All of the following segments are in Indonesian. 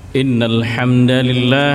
إن الحمد لله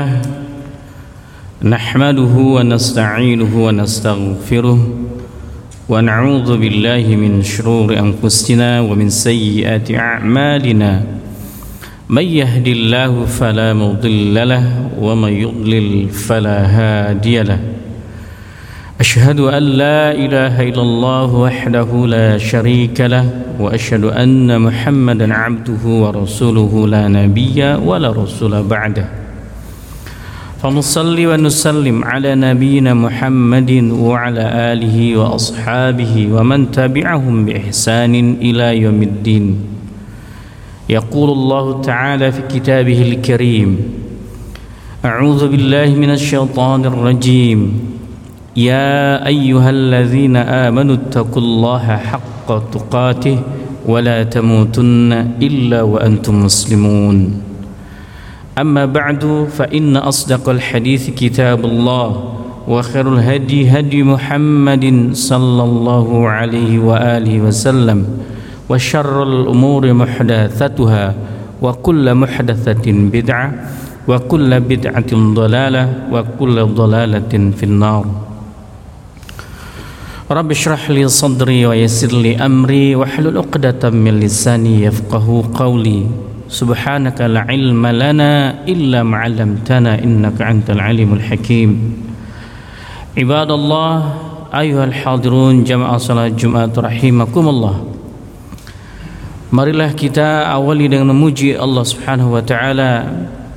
نحمده ونستعينه ونستغفره ونعوذ بالله من شرور أنفسنا ومن سيئات أعمالنا من يهد الله فلا مضل له ومن يضلل فلا هادي له أشهد أن لا إله إلا الله وحده لا شريك له وأشهد أن محمدا عبده ورسوله لا نبي ولا رسول بعده فنصلي ونسلم على نبينا محمد وعلى آله وأصحابه ومن تبعهم بإحسان إلى يوم الدين يقول الله تعالى في كتابه الكريم أعوذ بالله من الشيطان الرجيم يا أيها الذين آمنوا اتقوا الله حق تقاته ولا تموتن إلا وأنتم مسلمون أما بعد فإن أصدق الحديث كتاب الله وخير الهدي هدي محمد صلى الله عليه وآله وسلم وشر الأمور محدثاتها وكل محدثة بدعة وكل بدعة ضلالة وكل ضلالة في النار رب اشرح لي صدري ويسر لي أمري واحلل عقدة من لساني يفقهوا قولي سبحانك لا علم لنا إلا ما علمتنا إنك أنت العليم الحكيم عباد الله أيها الحاضرون جماعة صلاة الجمعة رحمكم الله. Marilah kita awali dengan memuji Allah Subhanahu wa taala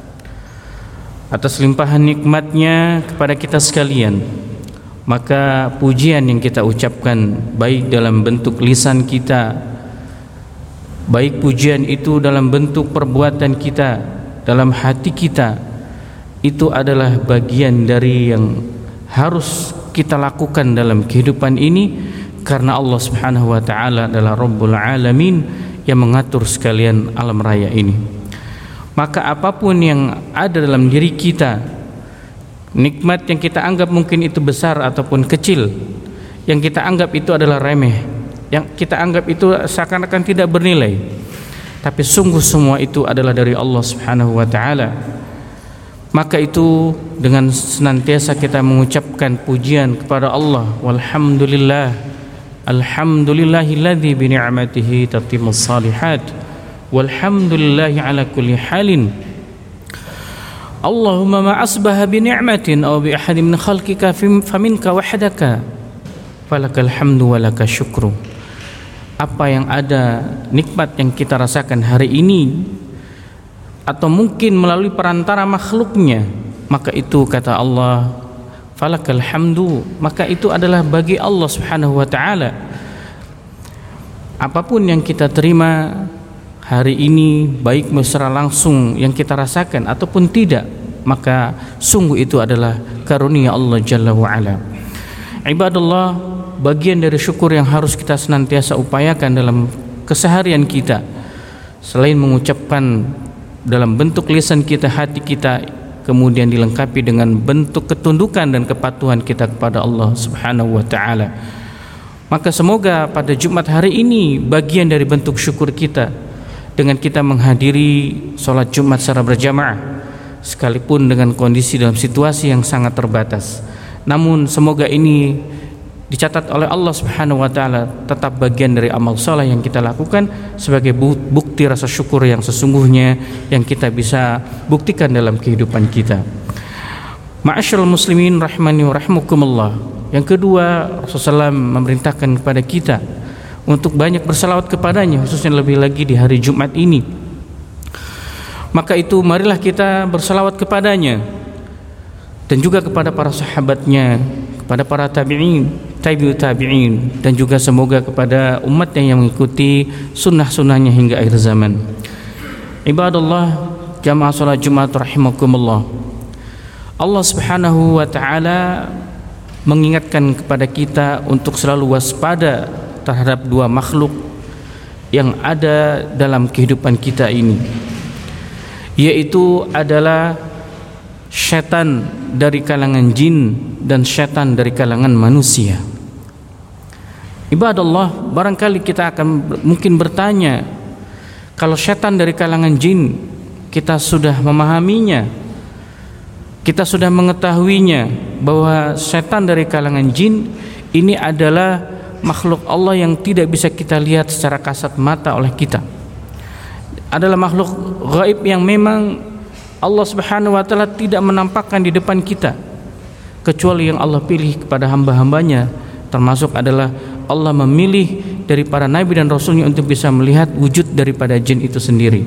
atas limpahan nikmatnya kepada kita sekalian. Maka pujian yang kita ucapkan baik dalam bentuk lisan kita, baik pujian itu dalam bentuk perbuatan kita, dalam hati kita, itu adalah bagian dari yang harus kita lakukan dalam kehidupan ini, karena Allah Subhanahu wa taala adalah Rabbul Alamin yang mengatur sekalian alam raya ini. Maka apapun yang ada dalam diri kita, nikmat yang kita anggap mungkin itu besar ataupun kecil, yang kita anggap itu adalah remeh, yang kita anggap itu seakan-akan tidak bernilai, tapi sungguh semua itu adalah dari Allah Subhanahu wa taala. Maka itu dengan senantiasa kita mengucapkan pujian kepada Allah, walhamdulillah, alhamdulillahilladzi bi ni'matihi tatimmus shalihat, walhamdulillahi ala kulli halin. Allahumma ma asbaha bi ni'matin aw bi ahadin min khalqika faminka wahdaka falakal hamdu wa lakal syukru. Apa yang ada, nikmat yang kita rasakan hari ini atau mungkin melalui perantara makhluknya, maka itu kata Allah falakal hamdu, maka itu adalah bagi Allah Subhanahu wa taala. Apapun yang kita terima hari ini, baik secara langsung yang kita rasakan ataupun tidak, maka sungguh itu adalah karunia Allah Jalla wa'ala. Ibadallah, bagian dari syukur yang harus kita senantiasa upayakan dalam keseharian kita, selain mengucapkan dalam bentuk lisan kita, hati kita, kemudian dilengkapi dengan bentuk ketundukan dan kepatuhan kita kepada Allah Subhanahu wa ta'ala. Maka semoga pada Jumat hari ini bagian dari bentuk syukur kita dengan kita menghadiri sholat Jumat secara berjamaah, sekalipun dengan kondisi dalam situasi yang sangat terbatas. Namun semoga ini dicatat oleh Allah Subhanahu wa taala tetap bagian dari amal saleh yang kita lakukan sebagai bukti rasa syukur yang sesungguhnya yang kita bisa buktikan dalam kehidupan kita. Ma'asyiral muslimin rahimani wa rahimakumullah. Yang kedua, Rasulullah SAW memerintahkan kepada kita untuk banyak bersalawat kepadanya, khususnya lebih lagi di hari Jumat ini. Maka itu marilah kita bersalawat kepadanya dan juga kepada para sahabatnya, kepada para tabi'in, tabi'ut tabi'in, dan juga semoga kepada umatnya yang mengikuti sunnah-sunnahnya hingga akhir zaman. Ibadallah, jamaah salat Jumat rahimakumullah. Allah Subhanahu wa taala mengingatkan kepada kita untuk selalu waspada terhadap dua makhluk yang ada dalam kehidupan kita ini, yaitu adalah syaitan dari kalangan jin dan syaitan dari kalangan manusia. Ibadallah, barangkali kita akan mungkin bertanya, kalau syaitan dari kalangan jin kita sudah memahaminya, kita sudah mengetahuinya bahwa setan dari kalangan jin ini adalah makhluk Allah yang tidak bisa kita lihat secara kasat mata oleh kita. Adalah makhluk gaib yang memang Allah Subhanahu wa taala tidak menampakkan di depan kita, kecuali yang Allah pilih kepada hamba-hambanya. Termasuk adalah Allah memilih dari para nabi dan rasulnya untuk bisa melihat wujud daripada jin itu sendiri.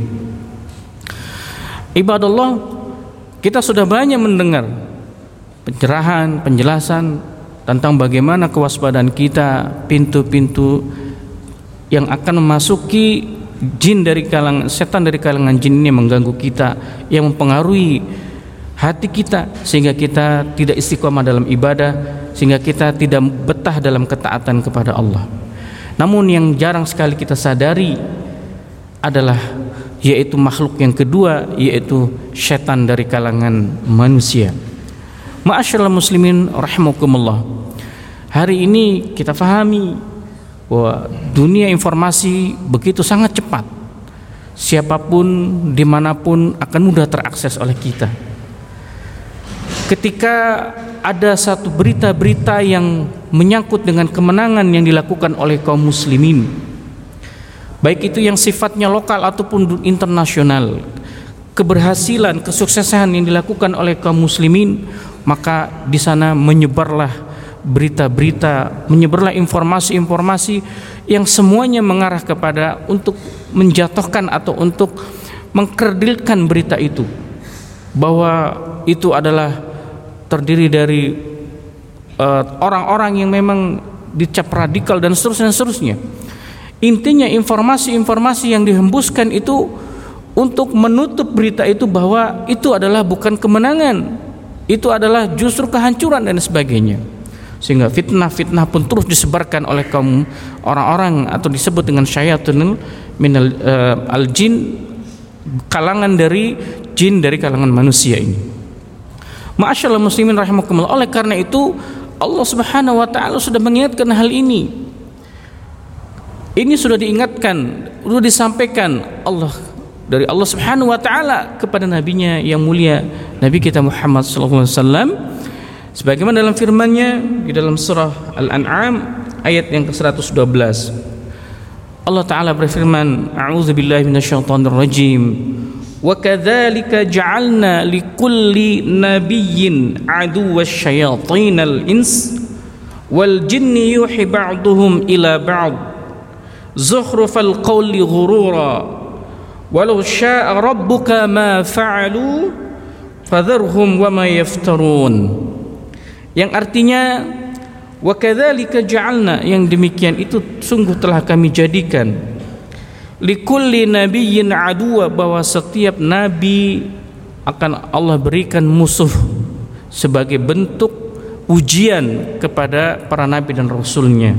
Ibadallah, kita sudah banyak mendengar pencerahan, penjelasan tentang bagaimana kewaspadaan kita, pintu-pintu yang akan memasuki jin dari kalangan setan dari kalangan jin ini mengganggu kita, yang mempengaruhi hati kita sehingga kita tidak istiqomah dalam ibadah, sehingga kita tidak betah dalam ketaatan kepada Allah. Namun yang jarang sekali kita sadari adalah yaitu makhluk yang kedua, yaitu setan dari kalangan manusia. Ma'asyiral muslimin rahimakumullah. Hari ini kita fahami bahwa dunia informasi begitu sangat cepat. Siapapun dimanapun akan mudah terakses oleh kita. Ketika ada satu berita-berita yang menyangkut dengan kemenangan yang dilakukan oleh kaum muslimin, baik itu yang sifatnya lokal ataupun internasional, keberhasilan, kesuksesan yang dilakukan oleh kaum muslimin, maka di sana menyebarlah berita-berita, menyebarlah informasi-informasi yang semuanya mengarah kepada untuk menjatuhkan atau untuk mengkerdilkan berita itu, bahwa itu adalah terdiri dari orang-orang yang memang dicap radikal dan seterusnya. Intinya informasi-informasi yang dihembuskan itu untuk menutup berita itu bahwa itu adalah bukan kemenangan, itu adalah justru kehancuran dan sebagainya. Sehingga fitnah-fitnah pun terus disebarkan oleh kaum orang-orang atau disebut dengan syayatunul minal al-jin, kalangan dari jin dari kalangan manusia ini. Ma'asyiral muslimin rahimakumullah. Oleh karena itu Allah Subhanahu wa taala sudah mengingatkan hal ini. Ini sudah diingatkan, sudah disampaikan dari Allah Subhanahu wa taala kepada nabinya yang mulia, Nabi kita Muhammad sallallahu alaihi wasallam, sebagaimana dalam firman-Nya di dalam surah Al-An'am ayat yang ke-112. Allah taala berfirman, a'udzubillahi minasyaitonir rajim. Wa kadzalika ja'alna likulli nabiyyin aduwwasy syayatinal ins wal jinni yuhi ba'duhum ila ba'd zukhrufal qawli ghurura walau syaa rabbuka ma fa'alu fadharhum wama yaftarun. Yang artinya wa kadzalika ja'alna, yang demikian itu sungguh telah kami jadikan likulli nabiyyin aduwa, bahwa setiap nabi akan Allah berikan musuh sebagai bentuk ujian kepada para nabi dan rasulnya.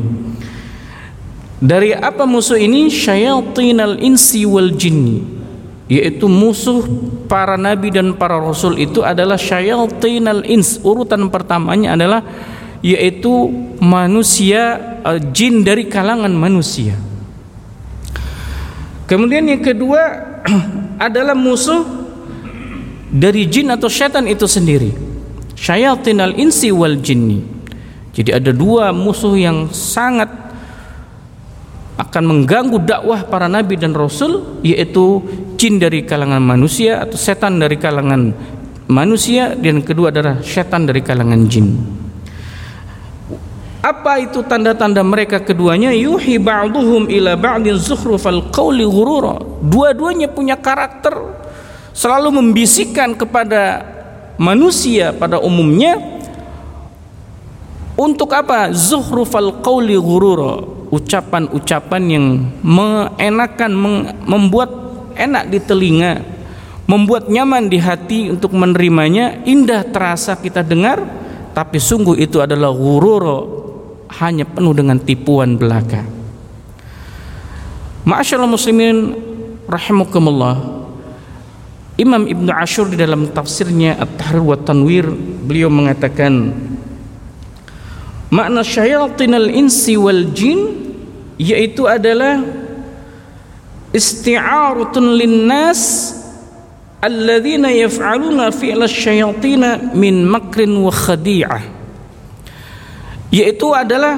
Dari apa musuh ini? Syayatinal insi wal jinni, yaitu musuh para nabi dan para rasul itu adalah syayatinal ins. Urutan pertamanya adalah yaitu manusia, jin dari kalangan manusia. Kemudian yang kedua adalah musuh dari jin atau syaitan itu sendiri, syayatinal insi wal jinni. Jadi ada dua musuh yang sangat akan mengganggu dakwah para nabi dan rasul, yaitu jin dari kalangan manusia atau setan dari kalangan manusia, dan kedua adalah syaitan dari kalangan jin. Apa itu tanda-tanda mereka keduanya? Yuhi ba'duhum ila ba'din zukhrufal qawli ghurura. Dua-duanya punya karakter selalu membisikkan kepada manusia pada umumnya untuk apa? Zukhrufal qawli ghurura, ucapan-ucapan yang mengenakan, membuat enak di telinga, membuat nyaman di hati untuk menerimanya, indah terasa kita dengar, tapi sungguh itu adalah ghurura, hanya penuh dengan tipuan belaka. Ma'asyiral muslimin rahimakumullah. Imam Ibnu Ashur di dalam tafsirnya At-Tahrir wa Tanwir, beliau mengatakan makna syayatinal insi wal jin yaitu adalah isti'aratun linnas alladzina yaf'aluna fi'la syayatin min makrin wa khadi'ah, yaitu adalah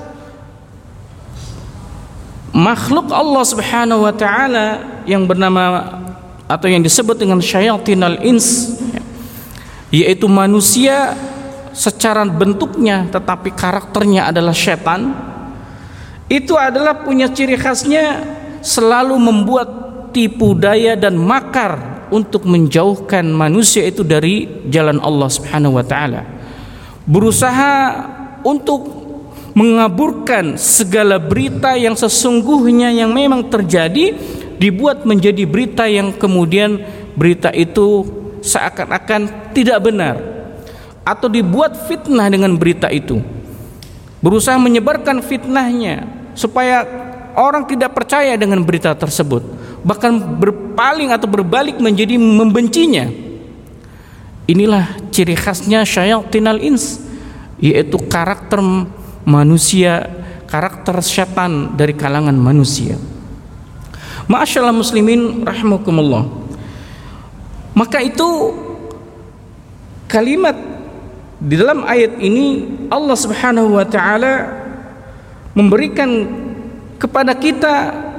makhluk Allah Subhanahu wa taala yang bernama atau yang disebut dengan syayatinal ins, yaitu manusia secara bentuknya tetapi karakternya adalah setan. Itu adalah punya ciri khasnya selalu membuat tipu daya dan makar untuk menjauhkan manusia itu dari jalan Allah Subhanahu wa taala. Berusaha untuk mengaburkan segala berita yang sesungguhnya yang memang terjadi, dibuat menjadi berita yang kemudian berita itu seakan-akan tidak benar, atau dibuat fitnah dengan berita itu. Berusaha menyebarkan fitnahnya supaya orang tidak percaya dengan berita tersebut, bahkan berpaling atau berbalik menjadi membencinya. Inilah ciri khasnya syayatinal ins, yaitu karakter manusia, karakter setan dari kalangan manusia. Ma'asyiral muslimin rahimakumullah. Maka itu kalimat di dalam ayat ini Allah Subhanahu wa taala memberikan kepada kita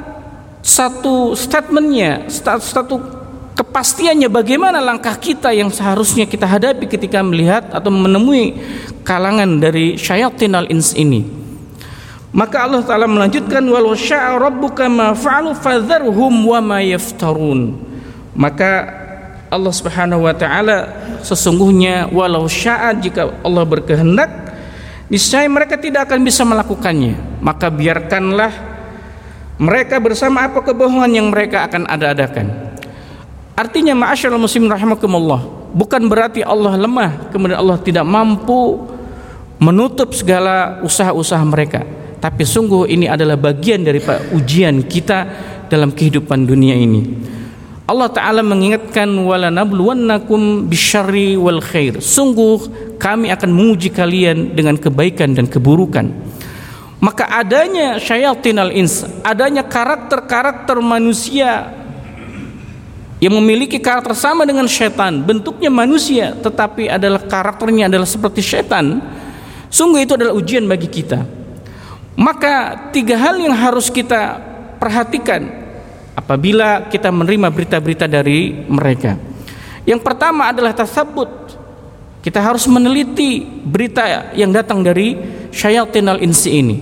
satu statementnya, satu kepastiannya bagaimana langkah kita yang seharusnya kita hadapi ketika melihat atau menemui kalangan dari syayatinal ins ini. Maka Allah Ta'ala melanjutkan, walau sya'a rabbuka ma fa'alu fadharhum wa ma yaftarun. Maka Allah Subhanahu wa taala sesungguhnya walau sya'a, jika Allah berkehendak, niscaya mereka tidak akan bisa melakukannya. Maka biarkanlah mereka bersama apa kebohongan yang mereka akan ada-adakan. Artinya ma'asyiral muslimin rahimakumullah, bukan berarti Allah lemah kemudian Allah tidak mampu menutup segala usaha-usaha mereka, tapi sungguh ini adalah bagian dari ujian kita dalam kehidupan dunia ini. Allah Ta'ala mengingatkan, wala nabluwannakum bisyarri wal khair, sungguh kami akan menguji kalian dengan kebaikan dan keburukan. Maka adanya syayatinal ins, adanya karakter-karakter manusia yang memiliki karakter sama dengan syaitan, bentuknya manusia tetapi adalah karakternya adalah seperti syaitan, sungguh itu adalah ujian bagi kita. Maka 3 hal yang harus kita perhatikan apabila kita menerima berita-berita dari mereka. Yang pertama adalah tasabbut. Kita harus meneliti berita yang datang dari syayatinal insi ini,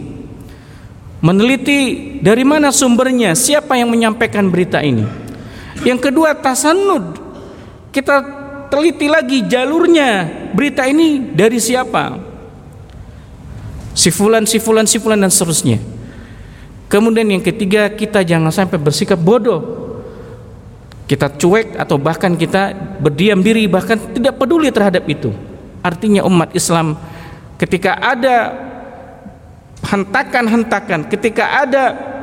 meneliti dari mana sumbernya, siapa yang menyampaikan berita ini. Yang kedua tasannud, kita teliti lagi jalurnya, berita ini dari siapa, si fulan dan seterusnya. Kemudian yang ketiga, kita jangan sampai bersikap bodoh, kita cuek atau bahkan kita berdiam diri, bahkan tidak peduli terhadap itu. Artinya umat Islam ketika ada hentakan-hentakan, ketika ada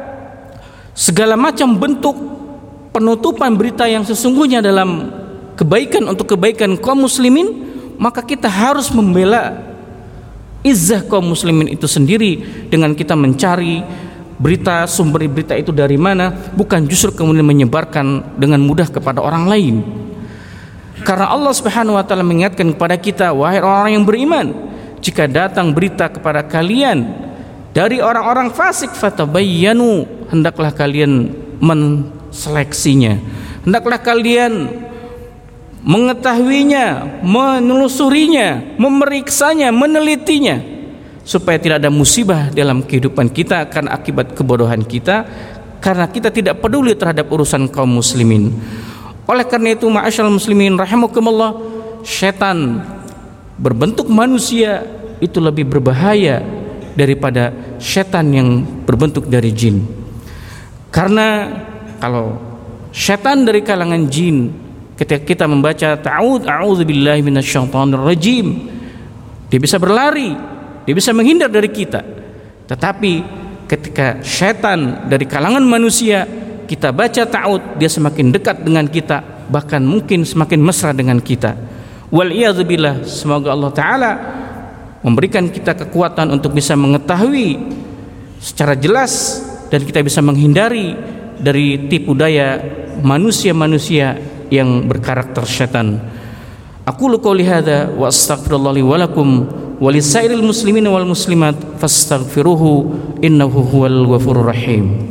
segala macam bentuk penutupan berita yang sesungguhnya dalam kebaikan untuk kebaikan kaum muslimin, maka kita harus membela izzah kaum muslimin itu sendiri dengan kita mencari berita, sumber berita itu dari mana, bukan justru kemudian menyebarkan dengan mudah kepada orang lain. Karena Allah Subhanahu wa taala mengingatkan kepada kita, wahai orang yang beriman, jika datang berita kepada kalian dari orang-orang fasik, fatabayyanu, hendaklah kalian seleksinya, hendaklah kalian mengetahuinya, menelusurinya, memeriksanya, menelitinya, supaya tidak ada musibah dalam kehidupan kita karena akibat kebodohan kita, karena kita tidak peduli terhadap urusan kaum muslimin. Oleh karena itu ma'asyiral muslimin rahimakumullah, setan berbentuk manusia itu lebih berbahaya daripada setan yang berbentuk dari jin. Karena kalau setan dari kalangan jin, ketika kita membaca a'udzubillahi minasyaitonirrajim, dia bisa berlari, dia bisa menghindar dari kita. Tetapi ketika setan dari kalangan manusia, kita baca ta'ud, dia semakin dekat dengan kita, bahkan mungkin semakin mesra dengan kita. Wal iyadzubillah, semoga Allah Ta'ala memberikan kita kekuatan untuk bisa mengetahui secara jelas dan kita bisa menghindari dari tipu daya manusia-manusia yang berkarakter setan. Aqulu qouli hadza wa astaghfirullah li wa lakum wa lisairil muslimin wal muslimat fastaghfiruhu innahu huwal ghafurur rahim.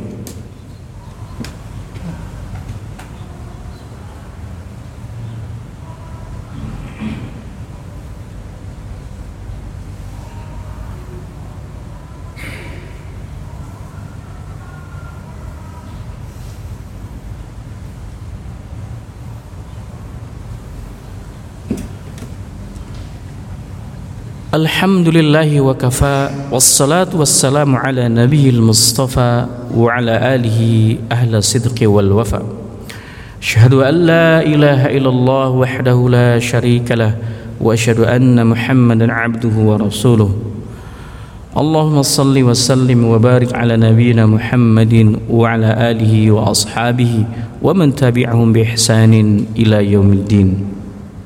Alhamdulillahi wa kafa, wassalatu wassalamu ala nabiyil mustafa wa ala alihi ahla sidqi wal wafa. Asyhadu an la ilaha illallah wahdahu la syarika lah wa asyhadu anna Muhammadan abduhu wa rasuluh. Allahumma salli wa sallim wa barik ala nabiyyina Muhammadin wa ala alihi wa ashabihi wa man tabi'ahum bi ihsanin ila yaumiddin.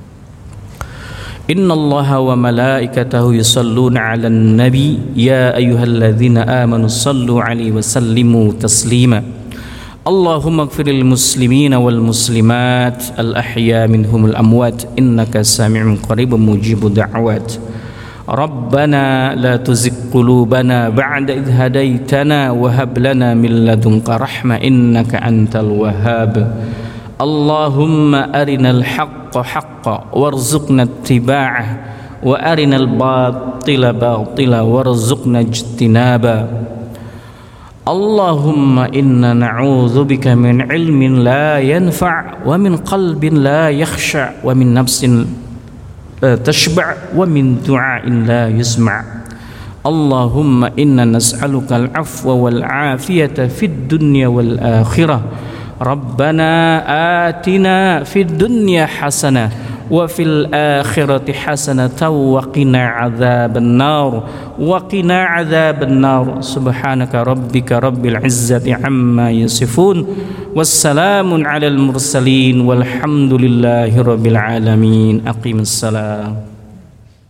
Inna Allaha wa malaikatahu yusalluna 'alan nabi ya ayyuhalladzina amanu sallu 'alaihi wa sallimu taslima. Allahumma ighfirlil muslimina wal muslimat al ahya minhumul amwat innaka sami'un qaribun mujibud da'wat. Rabbana la tuzigh qulubana ba'da idh hadaitana wa hab lana min ladunka rahmah innaka antal wahhab. Allahumma arinal haqqa haqqa warzuqna ittiba'ah wa arinal batila batila warzuqna ijtinaba. Allahumma inna na'udzubika min ilmin la yanfa' wa min qalbin la yakhsha' wa min nafsin tashba' wa min du'ain la yusma'. Allahumma inna nas'aluka al-'afwa wal 'afiyata fid dunya wal akhirah. Rabbana atina fid dunya hasanah wa fil akhirati hasanatan wa qina adzabannar subhanaka rabbika rabbil izzati amma yasifun wassalamun alal mursalin walhamdulillahi rabbil alamin. Aqimissalam.